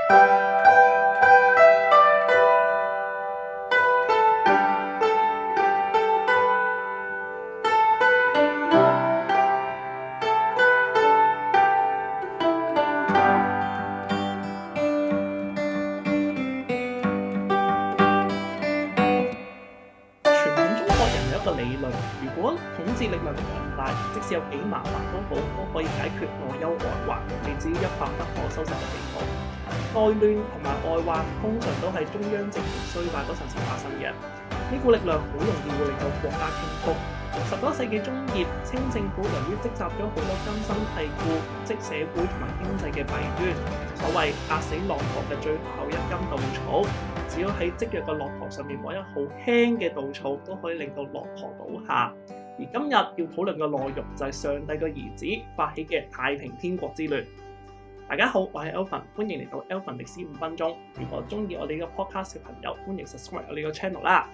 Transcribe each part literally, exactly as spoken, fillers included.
如果統治力量強大，即使有幾麻煩都好，都可以解決內憂外患，未至於一發不可收拾嘅地步。內亂同埋外患通常都係中央政權衰敗嗰陣時發生嘅，呢股力量好容易會令到國家傾覆。十九世紀中葉，清政府由於積集咗好多根深蒂固、即社會同埋經濟嘅弊端，所謂壓死駱駝嘅最後一根稻草，只要喺積弱嘅駱駝上面摸一好輕嘅稻草，都可以令到駱駝倒下。而今日要討論嘅內容就係上帝嘅兒子發起嘅太平天國之亂。大家好，我係 Elvin， 歡迎嚟到 Elvin 歷史五分鐘。如果中意我哋呢個 podcast 嘅朋友，歡迎 subscribe 我哋個 channel 啦。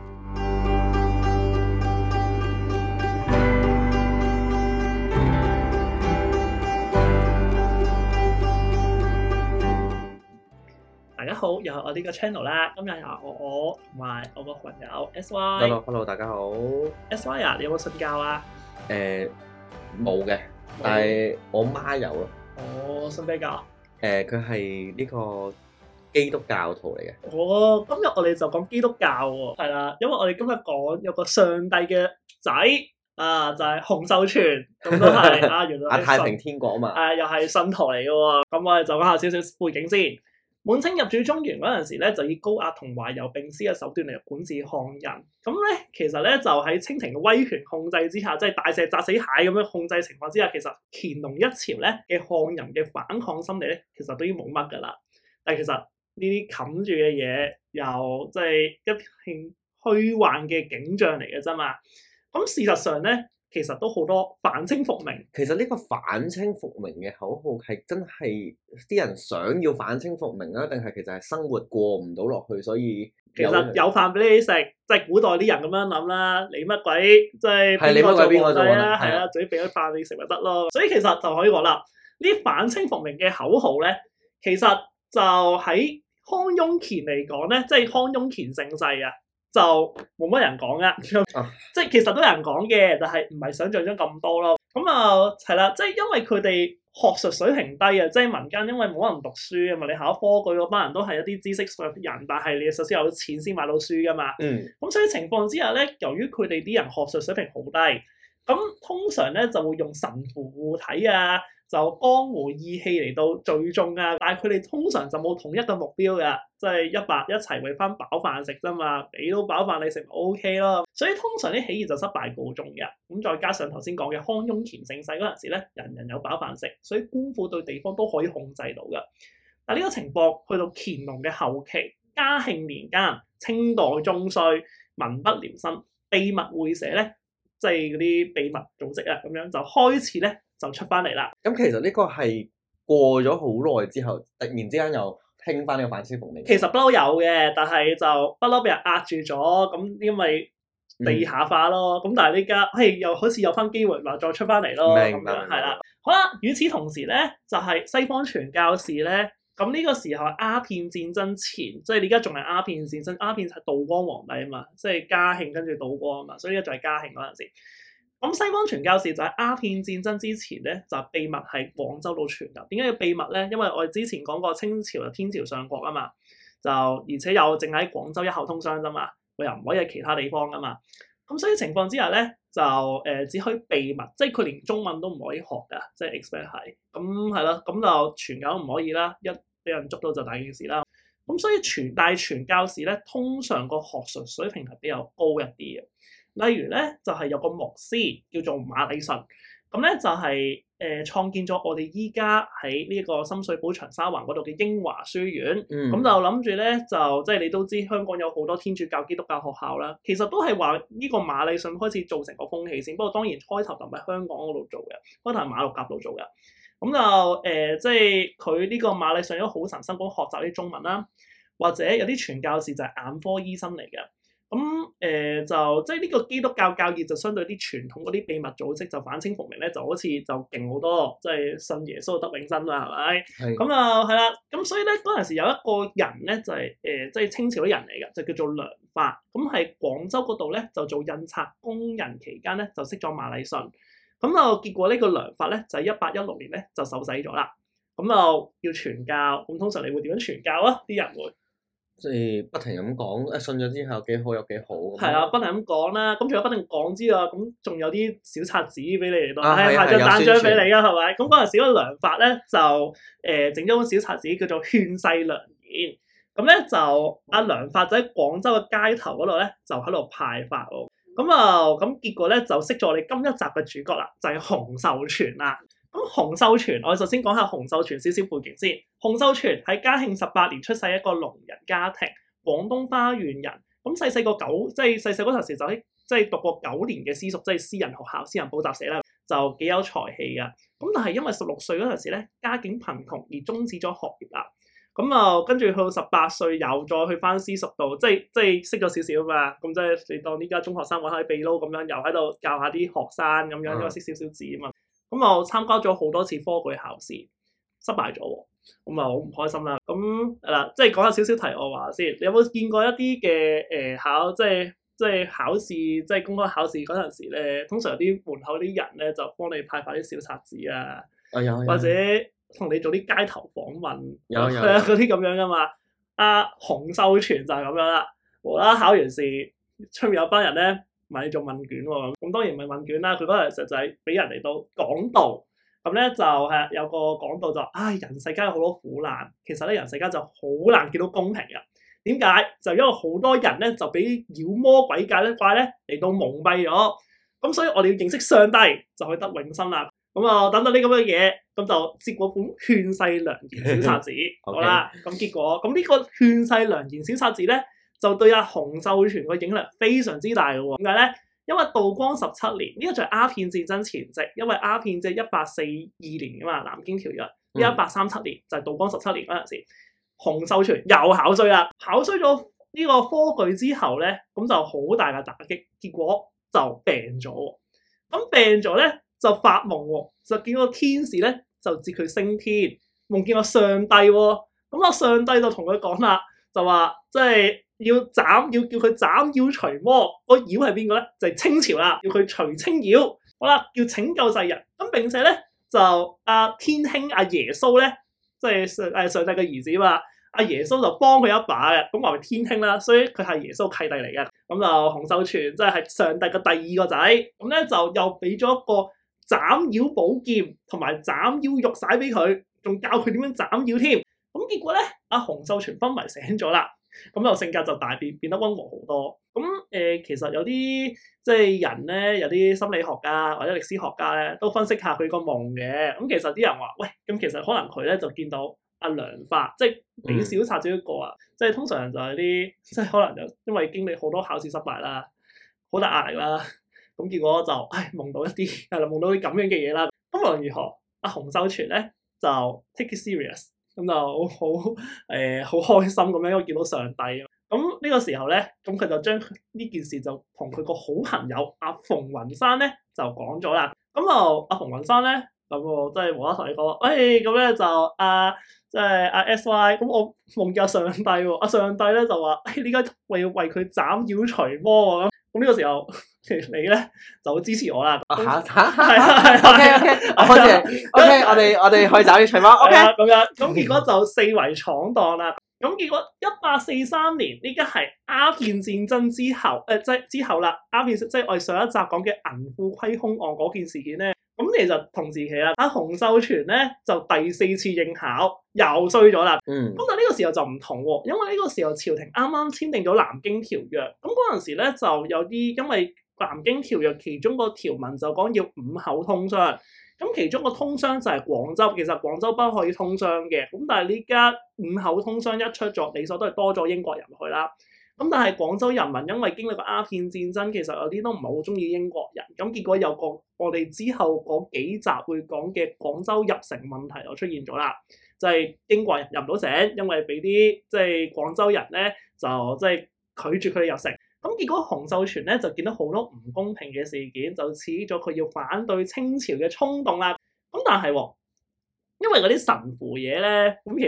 大家好，又係我呢個 channel 啦。今日又我我同埋我個朋友 S Y。 Hello Hello， 大家好。 S Y 啊，你有冇信教啊？ 誒冇嘅，但係我媽有咯。 哦，信咩教？ 誒，佢係呢個基督教徒嚟嘅。 哦，今日我哋就講基督教喎，係啦，因為我哋今日講有個上帝嘅仔啊，就係、是、洪秀全，咁都係啊，原來啊太平天國啊嘛。誒、 啊，又係信徒嚟嘅喎。咁我哋就講下少少背景先。滿清入主中原嗰陣時咧，就以高壓同懷柔並施嘅手段嚟管治漢人。咁咧，其實咧就喺清廷嘅威權控制之下，即係大石砸死蟹咁樣控制情況之下，其實乾隆一朝咧嘅漢人嘅反抗心理咧，其實都已經冇乜噶啦。但係其實呢啲冚住嘅嘢，又即係一片虛幻嘅景象嚟嘅啫嘛。咁事實上咧，其實都好多反清復明。 其實呢個反清復明嘅口號係真係啲人想要反清復明啊，定係其實係生活過唔到落去，所以其實有飯俾你食，即係古代啲人咁樣諗啦。你乜鬼即係邊個做皇帝啊？係啊，總之俾咗飯你食咪得咯。所以其實就可以講啦，呢啲反清復明嘅口號咧，其實就喺康雍乾嚟講咧，即係康雍乾盛世啊。就冇乜人講噶，啊、即係其實都有人講嘅，但係唔係想象中咁多咯。咁啊係啦，即係因為佢哋學術水平低啊，即係民間因為冇人讀書啊嘛，你考科舉嗰班人都係一啲知識嘅人，但係你首先有錢先買到書噶嘛。嗯。咁所以情況之下咧，由於佢哋啲人學術水平好低，咁通常咧就會用神符護體啊。就江湖義氣嚟到聚眾啊，但係佢哋通常就冇統一嘅目標嘅，即係一白一齊為翻飽飯食啫嘛，俾到飽飯你食咪 O K 咯。所以通常啲起義就失敗告終嘅。咁再加上頭先講嘅康雍乾盛世嗰陣時咧，人人有飽飯食，所以官府對地方都可以控制到嘅。但係呢個情況去到乾隆嘅後期，嘉慶年間，清代中衰，民不聊生，秘密會社咧，即係嗰啲秘密組織啊，咁樣就開始咧。就出翻嚟啦。 咁其實呢個係過咗好耐之後，突然之間又興翻呢個反清復明。 其實不嬲有嘅，但係就不嬲俾人壓住咗。咁因為地下化咯。咁、嗯、但係呢家係又好似有翻機會話再出翻嚟咯。 明白。 係啦。好啦，與此同時咧，就係、是、西方傳教士咧。咁呢個時候鴉片戰爭前，即係你而家仲係鴉片戰爭。鴉片係道光皇帝啊嘛，即係嘉慶跟住道光啊嘛，所以而家就係嘉慶嗰陣時。咁西方傳教士就喺鴉片戰爭之前咧，就秘密喺廣州度傳入。點解要秘密咧？因為我哋之前講過清朝嘅天朝上國啊嘛，就而且又淨喺廣州一口通商啫嘛，佢又唔可以喺其他地方噶嘛。咁所以情況之下咧，就誒、呃、只可以秘密，即係佢連中文都唔可以學噶，即係 expect 係。咁係咯，咁就傳教都唔可以啦，一俾人捉到就大件事啦。咁所以傳大傳教士咧，通常個學術水平係比較高一啲嘅。例如咧，就係、是、有個牧師叫做馬禮遜，咁咧就係、是、誒、呃、創建咗我哋依家喺呢個深水埗長沙灣嗰度嘅英華書院。咁、嗯、就諗住咧，就即係你都知香港有好多天主教、基督教學校啦，其實都係話呢個馬禮遜開始造成個風氣先。不過當然開頭就唔係香港嗰度做嘅，開頭係馬六甲度做嘅。咁就誒、呃，即係佢呢個馬禮遜都好神心咁學習啲中文啦，或者有啲傳教士就係眼科醫生嚟嘅。咁誒、呃、就即係呢個基督教教義就相對啲傳統嗰啲秘密組織就反清復明咧，就好似就勁好多，即係信耶穌得永生啦，係咪？咁啊係啦。咁咁所以咧嗰陣時有一個人咧就係誒即係清朝啲人嚟嘅，就叫做梁發。咁喺廣州嗰度咧就做印刷工人期間咧就識咗馬禮遜。咁就結果呢個梁發咧就喺一八一六年咧就受洗咗啦。咁就要傳教。咁通常你會點樣傳教啊？啲人會即係不停咁講，誒信咗之後幾好有幾好。 係啊，不停咁講啦。咁除咗不停講之外，咁仲有啲小冊子俾你嚟到， 啊係係啊派張單張俾有宣傳你啊，係咪？咁嗰陣時嗰個梁發咧就誒整咗本小冊子叫做《勸世良言》。咁咧就阿梁發就喺廣州嘅街頭嗰度咧就喺度派發喎。咁啊咁結果咧就識咗我哋今一集嘅主角啦，就係洪秀全啦。咁洪秀全，我哋首先講下洪秀全少少背景先。洪秀全喺嘉慶十八年出世一個農人家庭，廣東花縣人。咁細細個九，即係細細嗰陣時就喺即係讀過九年嘅私塾，即係私人學校、私人補習社啦，就幾有才氣噶。咁但係因為十六歲嗰陣時咧，家境貧窮而終止咗學業啦。咁啊，跟住去到十八歲又再去翻私塾度，即係即係識咗少少嘛。咁即係你當呢家中學生玩下啲秘撈咁樣，又喺度教下啲學生咁樣，因為識少少字啊嘛。咁我參加咗好多次科舉考試，失敗咗喎，咁啊好唔開心啦。咁嗱，即係講下少少題外話先。你有冇見過一啲嘅誒考，即係即係考試，即係公開考試嗰陣時咧，通常有啲門口啲人咧就幫你派發啲小冊子啊， 啊有或者同你做啲街頭訪問， 有有嗰啲咁樣噶嘛。阿洪秀全就係咁樣啦，無啦考完試，出面有班人咧問你做問卷喎，咁當然唔係問卷啦，佢嗰陣時就係俾人嚟到講道。咁咧就係有個講道就，唉，人世間有好多苦難，其實咧人世間就好難見到公平嘅。點解？就因為好多人咧就俾妖魔鬼怪咧怪咧嚟到蒙蔽咗。咁所以我哋要認識上帝，就可以得永生啦。咁啊，等等呢咁嘅嘢，咁就接過本勸世良言小冊子，好啦。咁結果咁呢個勸世良言小冊子咧，就對阿洪秀全個影響非常之大嘅喎。點解咧？因為道光十七年呢、這個就係鴉片戰爭前夕，因為鴉片即係一八四二年噶嘛，南京條約。呢一八三七年就係、是、道光十七年嗰陣時，洪秀全又考衰啦，考衰咗呢個科舉之後咧，咁就好大嘅打擊，結果就病咗。咁病咗咧就發夢喎，就見個天使咧就接佢升天，夢見個上帝喎。咁啊上帝就同佢講啦，就話即係。要斬，要叫佢斬妖除魔，個妖係邊個咧？就係、是、清朝啦，要佢除清妖。好啦，要拯救世人。咁並且咧就阿、啊、天兄阿、啊、耶穌咧，即係上誒上帝嘅兒子嘛。阿、啊、耶穌就幫佢一把嘅，咁話為天兄啦，所以佢係耶穌契弟嚟嘅。咁就洪秀全即係係上帝嘅第二個仔。咁咧就又俾咗一個斬妖寶劍同埋斬妖玉璽俾佢，仲教佢點樣斬妖添。咁結果咧，阿、啊、洪秀全昏迷醒咗啦。咁就性格就大變，變得溫和好多。咁誒、呃，其實有啲即係人咧，有啲心理學家或者歷史學家咧，都分析下佢個夢嘅。咁其實啲人話，喂，咁其實可能佢咧就見到阿梁發，即係俾小冊子一個啊，嗯、即係通常就係啲，即係可能就因為經歷好多考試失敗啦，好大壓力啦，咁結果就唉夢到一啲係啦，夢到啲咁樣嘅嘢啦。咁無論如何，阿洪秀全咧就 take it serious。咁就好誒，好、呃、開心咁樣，因為見到上帝。咁呢個時候咧，咁佢就將呢件事就同佢個好朋友阿馮雲山咧就講咗啦。咁就阿馮雲山咧，咁我即係無啦啦同你講，誒咁咧就阿即係阿 S Y，咁我夢見上帝喎，阿上帝咧就話，誒呢家為要為佢斬妖除魔喎。咁呢個時候，你咧就好支持我啦。 嚇嚇係係 OK OK，我開始 OK，我哋我哋去斬妖除魔 OK 咁樣。咁結果就四圍闖蕩啦。咁結果一八四三年，呢家係鴉片戰爭之後，誒、呃、即係之後啦。鴉片即係我哋上一集講嘅銀庫虧空案嗰件事件咧。咁其實同時期啦，阿洪秀全咧就第四次應考又衰咗啦。 嗯。 咁但係呢個時候就唔同喎，因為呢個時候朝廷啱啱簽訂咗南京條約。咁嗰陣時咧就有啲因為南京條約其中個條文就講要五口通商。咁其中個通商就係廣州，其實廣州不可以通商嘅。咁但係呢家五口通商一出咗，理所都係多咗英國人去啦。咁但係廣州人民因為經歷過鴉片戰爭，其實有啲都唔係好中意英國人。咁結果有個我哋之後嗰幾集會講嘅廣州入城問題就出現咗啦，就係、是、英國人入唔到城，因為俾啲即係廣州人咧就即係拒絕佢哋入城。咁結果洪秀全咧就見到好多唔公平嘅事件，就刺激咗佢要反對清朝嘅衝動啦。咁但係喎，因為嗰啲神符嘢咧，咁其實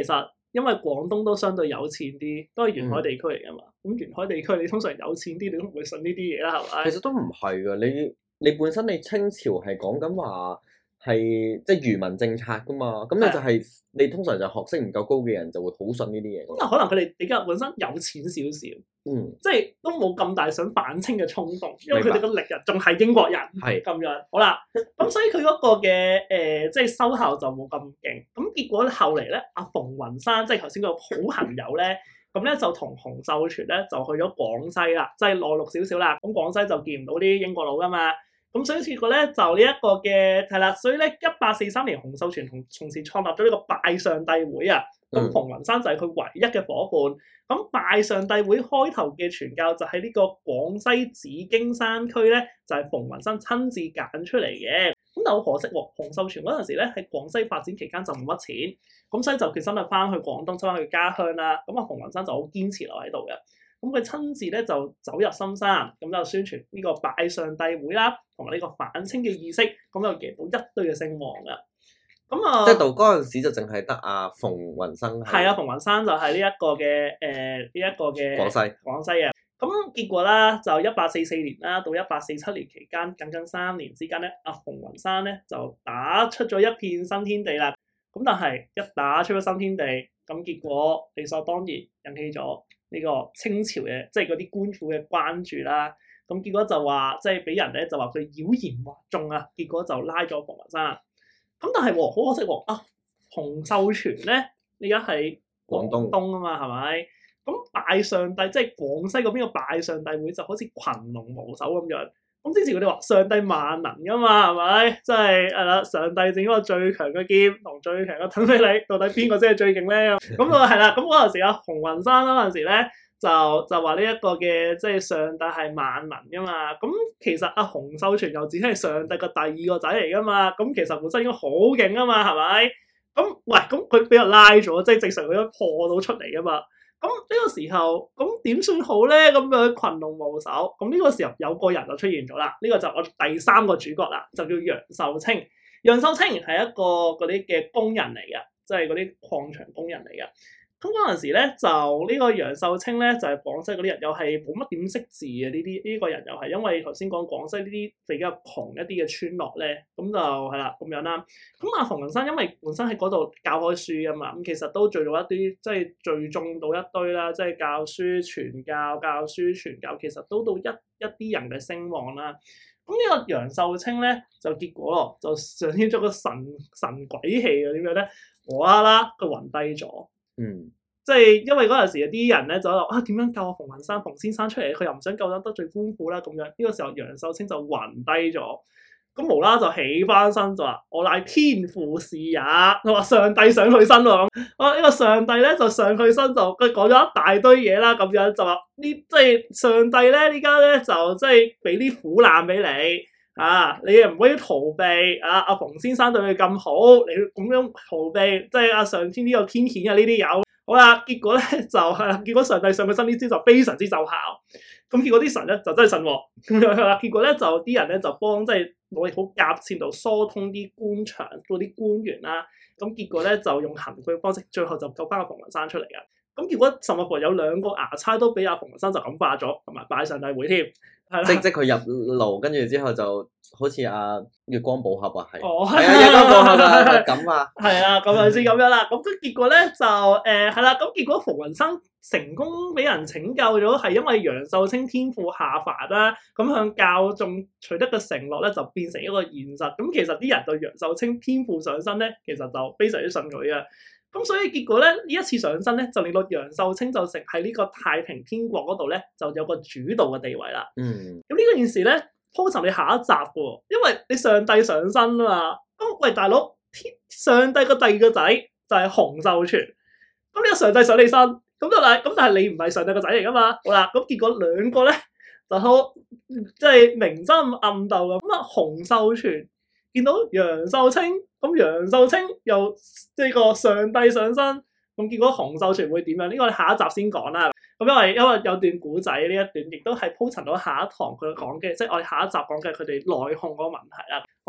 因為廣東都相對有錢啲，都係沿海地區嚟噶嘛。咁、嗯、沿海地區你通常有錢啲，你都唔會信呢啲嘢啦，係咪？ 其實都唔係噶，你你本身你清朝係講緊話。係即係愚民政策噶嘛，咁你就係、是、的你通常就學識唔夠高嘅人就會好信呢啲嘢。 咁啊，可能佢哋比較本身有錢少少， 嗯， 即係都冇咁大想反清嘅衝動，因為佢哋個歷人仲係英國人，係咁樣。好啦，咁所以佢嗰個嘅誒、呃，即係收效就冇咁勁。咁結果後嚟咧，阿馮雲山即係頭先個好朋友咧，咁咧就同洪秀全咧就去咗廣西啦，即係內陸少少啦。咁廣西就見唔到啲英國佬噶嘛。咁所以結果咧就呢一個嘅係啦，所以咧一八四三年洪秀全同從事創立咗呢個拜上帝會啊。咁馮雲山就係佢唯一嘅伙伴。咁拜上帝會開頭嘅傳教就喺呢個廣西紫荊山區咧，就係馮雲山親自揀出嚟嘅。咁但好可惜喎，洪秀全嗰陣時咧喺廣西發展期間就冇乜錢，咁所以就決心就翻去廣東，翻去家鄉啦。咁啊，馮雲山就好堅持留喺度嘅。咁佢親自咧就走入深山，咁就宣傳呢個拜上帝會啦，同埋呢個反清嘅意識，咁就贏到一堆嘅聲望噶。咁啊， 即係到嗰陣時就淨係得阿馮雲生。 係啊，馮雲山就係呢一個嘅誒呢一個嘅廣西廣西嘅。咁結果啦，就一八四四年啦，到一八四七年期間，僅僅三年之間咧，阿馮雲山咧就打出咗一片新天地啦。咁但係一打出咗新天地，咁結果理所當然引起咗呢個清朝嘅即係嗰啲官府嘅關注啦。咁結果就話即係俾人咧就話佢妖言惑眾啊，結果就拉咗馮雲山。咁但係好可惜喎，啊洪秀全咧而家喺廣東啊嘛，係咪？咁拜上帝即係廣西嗰邊個拜上帝會就好似群龍無首咁樣。咁之前佢哋話上帝萬能噶嘛，係咪？即係係啦，上帝整嗰個最強嘅劍同最強嘅盾俾你，到底邊個先係最勁咧？咁啊係啦，咁嗰陣時啊，洪雲山嗰陣時咧就就話呢一個嘅即係上帝係萬能噶嘛。咁其實阿洪秀全又只係上帝個第二個仔嚟噶嘛。咁其實本身應該好勁啊嘛，係咪？咁喂，咁佢俾人拉咗，即係正常佢都破到出嚟噶嘛。咁呢個時候，咁點算好咧？咁樣群龍無首，咁呢個時候有個人就出現咗啦。呢、這個就我第三個主角啦，就叫楊秀清。楊秀清係一個嗰啲嘅工人嚟嘅，即係嗰啲礦場工人嚟嘅。咁嗰陣時咧，就呢個楊秀清咧，就係、是、廣西嗰啲人，又係冇乜點識字嘅呢啲呢個人，又係因為頭先講廣西呢啲比較窮一啲嘅村落咧，咁就係啦咁樣啦。咁阿馮雲山因為本身喺嗰度教開書啊嘛，咁其實都聚到一啲即係聚眾到一堆啦，即係教書傳教、教書傳教，其實都到一一啲人嘅聲望啦。咁呢個楊秀清咧，就結果咯，就上天咗個神神鬼氣啊！點樣咧？無啦啦佢暈低咗。嗯，即係因為嗰陣時有啲人咧就話啊，點樣救阿馮雲山馮先生出嚟？佢又唔想救得得罪官府啦咁樣。呢、這個時候楊秀清就暈低咗，咁無啦就起翻身就話我乃天父是也，佢話上帝上佢身喎咁。啊呢、這個上帝咧就上佢身就佢講咗一大堆嘢啦，咁樣就話呢即係上帝咧呢家咧就即係俾啲苦難俾你。啊！你又唔可以逃避啊！阿馮先生對你咁好，你咁樣逃避，即係阿上天呢個天譴啊！呢啲有好啦，結果咧就係啦，結果上帝上佢身呢招就非常之奏效。咁結果啲神咧就真係神喎，咁樣係啦。結果咧就啲人咧就幫即係努力好夾線度疏通啲官場嗰啲官員啦。咁結果咧就用行賄方式，最後就救翻阿馮雲山出嚟嘅。咁結果甚至乎有兩個衙差都俾阿馮雲山就感化咗，同埋拜上帝會添。 即即佢入牢，跟住之後就好似阿月光寶盒啊，係， 哦， 係啊，月光寶盒啊，咁啊， 係啊，咁樣先咁樣啦。咁結果咧就誒係啦，咁、呃、結果馮雲山成功俾人拯救咗，係因為楊秀清天父下凡啦，咁向教眾取得嘅承諾咧就變成一個現實。咁其實啲人對楊秀清天父上身咧，其實就非常之信佢嘅。咁所以結果咧，呢一次上身咧，就令到楊秀清就成喺呢個太平天國嗰度咧，就有個主導嘅地位啦。嗯。咁呢個件事咧，鋪陳你下一集嘅喎，因為你上帝上身啊嘛。咁喂，大佬，天上帝個第二個仔就係洪秀全。咁呢個上帝上你身，咁就係咁，但係你唔係上帝個仔嚟噶嘛。好啦，咁結果兩個咧就好即係明爭暗鬥咁。咁啊，洪秀全見到楊秀清。咁楊秀清又即係個上帝上身，咁結果洪秀全會點樣？呢個你下一集先講啦。咁因為因為有段古仔呢一段，亦都係鋪陳到下一堂佢講嘅，即係我哋下一集講嘅佢哋內訌嗰個問題啦。好啦，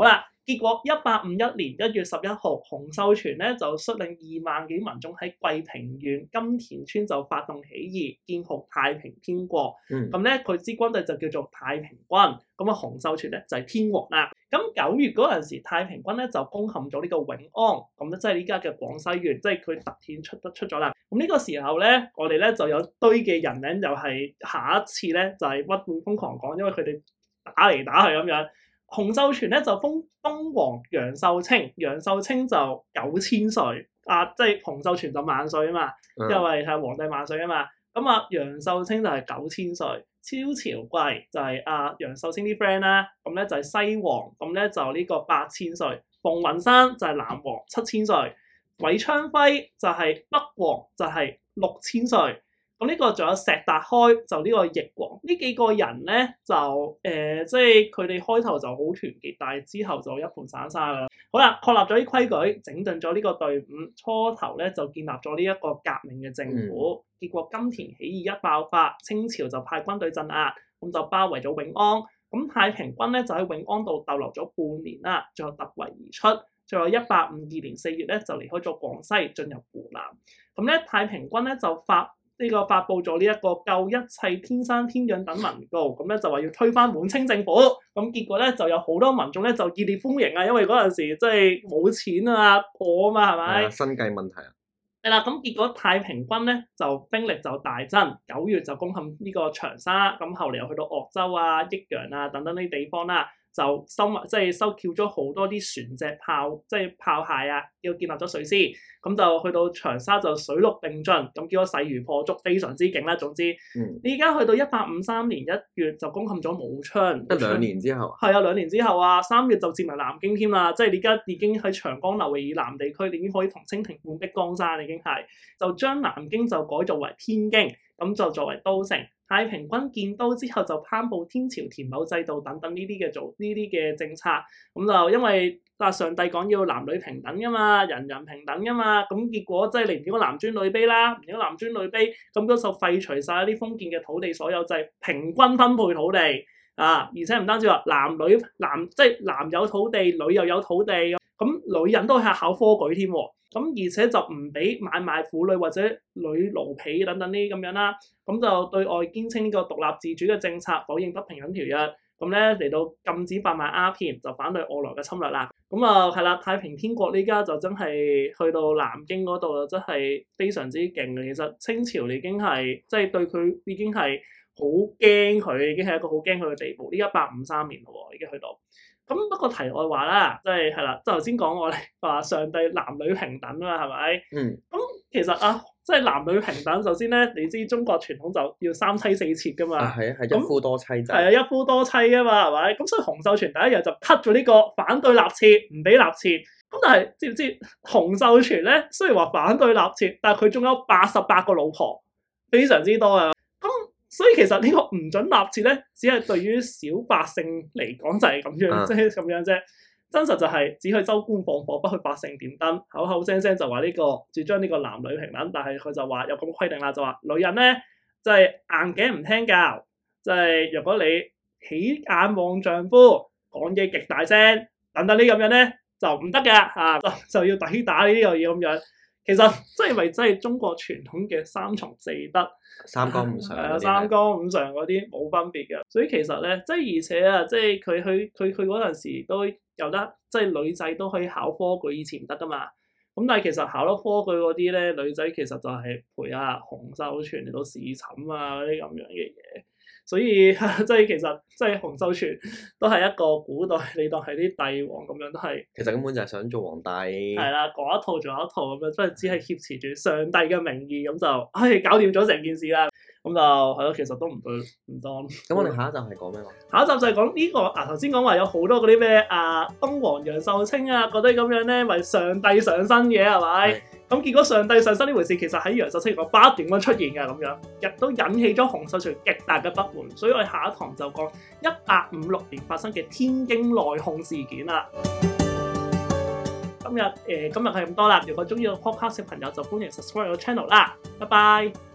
結果一八五一年一月十一號，洪秀全咧就率領二萬幾民眾喺桂平縣金田村就發動起義，建號太平天國。咁咧佢支軍隊就叫做太平軍。咁啊洪秀全咧就係、是、天王啦。咁九月嗰陣時，太平軍咧就攻陷咗呢個永安，咁咧即係依家嘅廣西縣，即係佢突顯出得出咗啦。咁呢個時候咧，我哋咧就有堆嘅人咧，又係下一次咧就係屈會瘋狂講，因為佢哋打嚟打去咁樣。洪秀全咧就封東王楊秀清，楊秀清就九千歲，啊即係洪秀全就萬歲啊嘛，嗯、因為係皇帝萬歲啊嘛。咁啊楊秀清就係九千歲，超朝貴就係阿楊秀清啲 friend 啦，咁咧就係西王，咁咧就呢個八千歲，馮雲山就係南王七千歲，韋昌輝就係北王就係六千歲。咁呢個仲有石達開，就呢個翼王，呢幾個人咧就誒、呃，即係佢哋開頭就好團結，但係之後就一盤散沙啦。好啦，確立咗啲規矩，整頓咗呢個隊伍，初頭咧就建立咗呢一個革命嘅政府。嗯、結果金田起義一爆發，清朝就派軍隊鎮壓，咁就包圍咗永安。咁太平軍咧就喺永安度逗留咗半年啦，最後突圍而出。最後一八五二年四月咧就離開咗廣西，進入湖南。咁咧太平軍咧就發。呢個發布咗呢一個救一切天生天養等文告，咁咧就話要推翻滿清政府，咁結果咧就有好多民眾咧就熱烈歡迎啊，因為嗰陣時即係冇錢啊破啊嘛，係咪？ 生計問題啊。 係啦，咁結果太平軍咧就兵力就大增，九月就攻陷呢個長沙，咁後嚟又去到鄂州啊、益陽啊等等呢啲地方啦。就收埋即係收繳咗好多啲船隻炮，即係炮械啊，要建立咗水師，咁就去到長沙就水陸並進，咁叫咗勢如破竹，非常之勁啦。總之，你而家去到一八五三年一月就攻陷咗武昌， 一兩年之後， 係啊，兩年之後啊，三月就佔埋南京添啦，即係你而家已經喺長江流域以南地區，你已經可以同清廷半壁江山，已經係就將南京就改造為天京，咁就作為都城。太平軍建都之後就頒布天朝田畝制度等等呢啲嘅做呢啲嘅政策，咁就因為啊上帝講要男女平等噶嘛，人人平等噶嘛，咁結果即係你唔應該男尊女卑啦，唔應該男尊女卑，咁嗰就廢除晒啲封建嘅土地所有制，平均分配土地啊，而且唔單止話男女男即係男有土地，女又有土地，咁女人都係考科舉添喎。咁而且就唔俾買賣婦女或者女奴婢等等呢啲咁樣啦，咁就對外堅稱呢個獨立自主嘅政策，否認不平等條約，咁咧嚟到禁止販賣鴉片，就反對外來嘅侵略啦。咁啊係啦，太平天國呢家就真係去到南京嗰度，真係非常之勁嘅。其實清朝已經係即係對佢已經係好驚佢，已經係一個好驚佢嘅地步。呢一八五三年咯，已經去到。咁不過題外話啦，即係係啦，即係頭先講我哋話上帝男女平等啊嘛，係咪？ 嗯。 咁其實啊，即係男女平等，首先咧，你知中國傳統就要三妻四妾噶嘛。啊， 係啊，係一夫多妻制。 係啊，一夫多妻噶嘛，係咪？咁所以洪秀全第一日就 cut 咗呢個反對立妾，唔俾立妾。咁但係知唔知洪秀全咧？雖然話反對立妾，但係佢仲有八十八個老婆，非常之多啊。咁所以其實呢個唔准立妾咧，只係對於小百姓嚟講就係咁樣，即係咁樣啫。真實就係只去州官放火，不去百姓點燈。口口聲聲就話呢、這個主張呢個男女平等，但係佢就話有咁規定啦，就話女人咧就係、是、硬頸唔聽教，就係、是、如果你起眼望丈夫，講嘢極大聲，等等呢咁樣咧就唔得嘅嚇，就就要抵打呢啲又要咁樣。其實即係咪真係中國傳統嘅三從四德？ 三綱五常係啊，三綱五常嗰啲冇分別嘅，所以其實咧，即係而且啊，即係佢去佢佢嗰陣時都有得，即係女仔都可以考科舉，以前唔得噶嘛。咁但係其實考咗科舉嗰啲咧，女仔其實就係陪阿洪秀全嚟到侍寢啊嗰啲咁樣嘅嘢。所以即係其實即係洪秀全都係一個古代，你當係啲帝王咁樣都係。 其實根本就係想做皇帝。 係啦，講一套做一套咁樣，即係只係挾持住上帝嘅名義咁就，唉，搞掂咗成件事啦。咁就係咯，其實都唔對唔當。咁我哋下一集係講咩話？ 下一集就係講呢個啊，頭先講話有好多嗰啲咩啊，東王楊秀清啊嗰啲咁樣咧，為上帝上身嘅係咪？咁結果上帝上身呢回事，其實喺楊秀清個不斷咁出現嘅咁樣，亦都引起咗洪秀全極大嘅不滿。所以我哋下一堂就講一八五六年發生嘅天京內訌事件啦。今日誒、呃、今日係咁多啦。如果中意個 podcast 嘅朋友就歡迎 subscribe 我 channel 啦。拜拜。